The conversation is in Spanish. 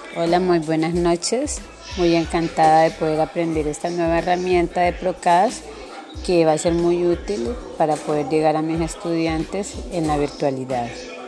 Hola, muy buenas noches. Muy encantada de poder aprender esta nueva herramienta de Procast que va a ser muy útil para poder llegar a mis estudiantes en la virtualidad.